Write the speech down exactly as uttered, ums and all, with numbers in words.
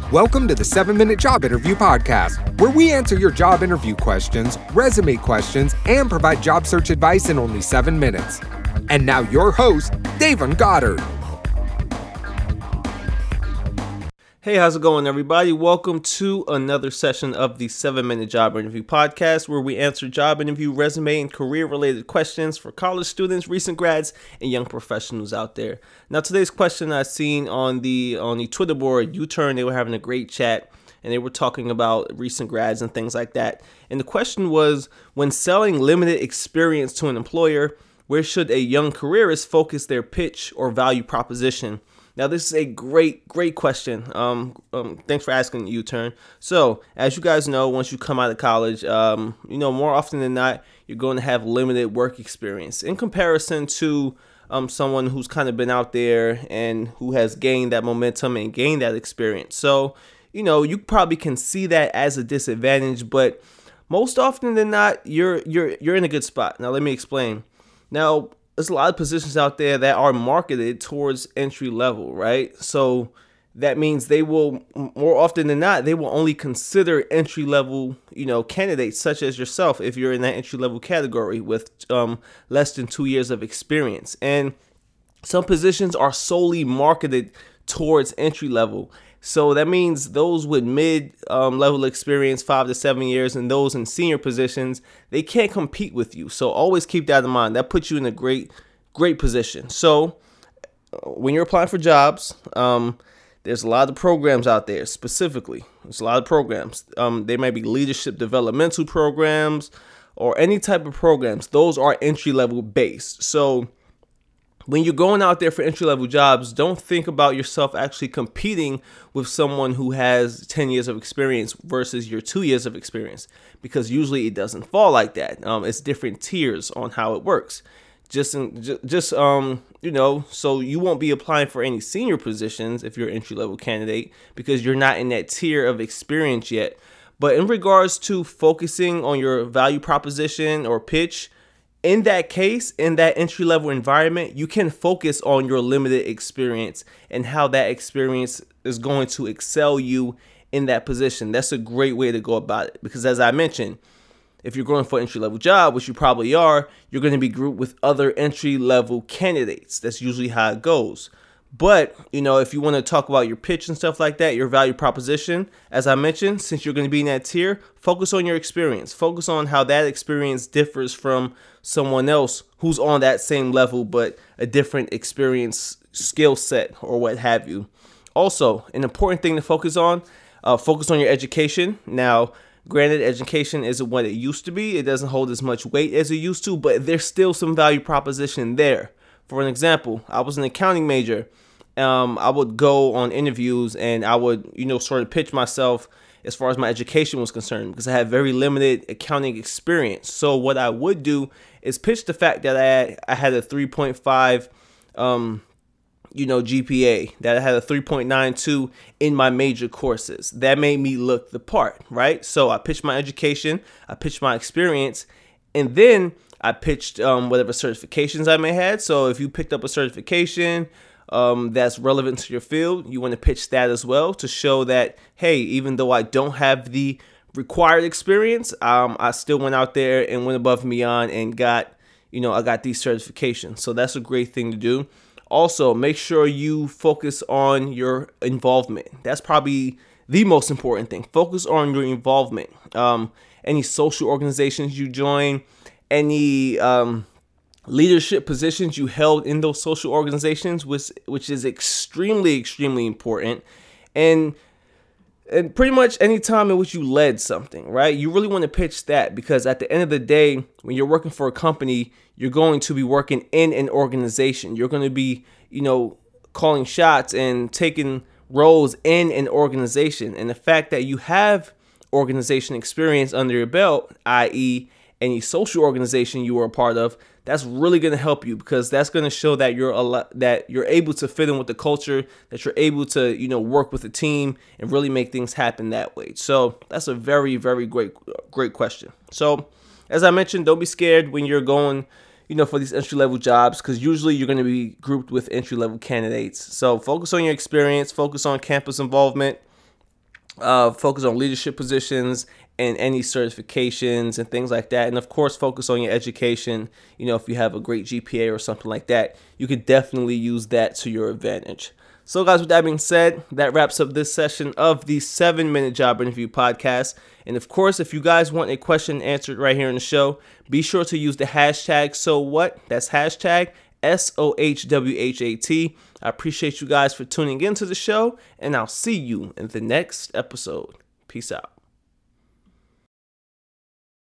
Welcome to the seven minute Job Interview Podcast, where we answer your job interview questions, resume questions, and provide job search advice in only seven minutes. And now your host, Davon Goddard. Hey, how's it going, everybody? Welcome to another session of the seven minute Job Interview Podcast, where we answer job interview, resume, and career-related questions for college students, recent grads, and young professionals out there. Now, today's question I've seen on the on the Twitter board, U-Turn, they were having a great chat, and they were talking about recent grads and things like that. And the question was, when selling limited experience to an employer, where should a young careerist focus their pitch or value proposition? Now, this is a great, great question. Um, um, thanks for asking, U-Turn. So, as you guys know, once you come out of college, um, you know, more often than not, you're going to have limited work experience in comparison to um, someone who's kind of been out there and who has gained that momentum and gained that experience. So, you know, you probably can see that as a disadvantage, but most often than not, you're you're you're in a good spot. Now, let me explain. Now, there's a lot of positions out there that are marketed towards entry level, right? So that means they will, more often than not, they will only consider entry level, you know, candidates such as yourself if you're in that entry level category with um, less than two years of experience. And some positions are solely marketed towards entry level. So that means those with mid um, level experience, five to seven years, and those in senior positions, they can't compete with you. So always keep that in mind. That puts you in a great, great position. So when you're applying for jobs, um, there's a lot of programs out there specifically. There's a lot of programs. Um, they might be leadership developmental programs or any type of programs. Those are entry level based. So when you're going out there for entry-level jobs, don't think about yourself actually competing with someone who has ten years of experience versus your two years of experience, because usually it doesn't fall like that. Um, it's different tiers on how it works. Just, in, just, just um, you know, so you won't be applying for any senior positions if you're an entry-level candidate because you're not in that tier of experience yet. But in regards to focusing on your value proposition or pitch, in that case, in that entry-level environment, you can focus on your limited experience and how that experience is going to excel you in that position. That's a great way to go about it because, as I mentioned, if you're going for an entry-level job, which you probably are, you're going to be grouped with other entry-level candidates. That's usually how it goes. But, you know, if you want to talk about your pitch and stuff like that, your value proposition, as I mentioned, since you're going to be in that tier, focus on your experience. Focus on how that experience differs from someone else who's on that same level, but a different experience, skill set, or what have you. Also, an important thing to focus on, uh, focus on your education. Now, granted, education isn't what it used to be. It doesn't hold as much weight as it used to, but there's still some value proposition there. For an example, I was an accounting major. Um, I would go on interviews and I would, you know, sort of pitch myself as far as my education was concerned because I had very limited accounting experience. So what I would do is pitch the fact that I had, I had a three point five, um, you know, G P A, that I had a three point nine two in my major courses. That made me look the part, right? So I pitched my education, I pitched my experience, and then I pitched um, whatever certifications I may have. So if you picked up a certification um, that's relevant to your field, you want to pitch that as well to show that, hey, even though I don't have the required experience, um, I still went out there and went above and beyond and got, you know, I got these certifications. So that's a great thing to do. Also, make sure you focus on your involvement. That's probably the most important thing. Focus on your involvement. Um, any social organizations you join, any um, leadership positions you held in those social organizations, which which is extremely, extremely important. And and pretty much any time in which you led something, right? You really want to pitch that because at the end of the day, when you're working for a company, you're going to be working in an organization. You're going to be, you know, calling shots and taking roles in an organization. And the fact that you have organization experience under your belt, that is any social organization you were a part of, that's really going to help you because that's going to show that you're a lot, that you're able to fit in with the culture, that you're able to, you know, work with a team and really make things happen that way. So that's a very, very great, great question. So as I mentioned, don't be scared when you're going, you know, for these entry-level jobs, because usually you're going to be grouped with entry-level candidates. So focus on your experience, focus on campus involvement, Uh, focus on leadership positions and any certifications and things like that. And of course, focus on your education. You know, if you have a great G P A or something like that, you could definitely use that to your advantage. So guys, with that being said, that wraps up this session of the seven minute Job Interview Podcast. And of course, if you guys want a question answered right here in the show, be sure to use the hashtag So What. That's hashtag S O H W H A T. I appreciate you guys for tuning into the show, and I'll see you in the next episode. Peace out.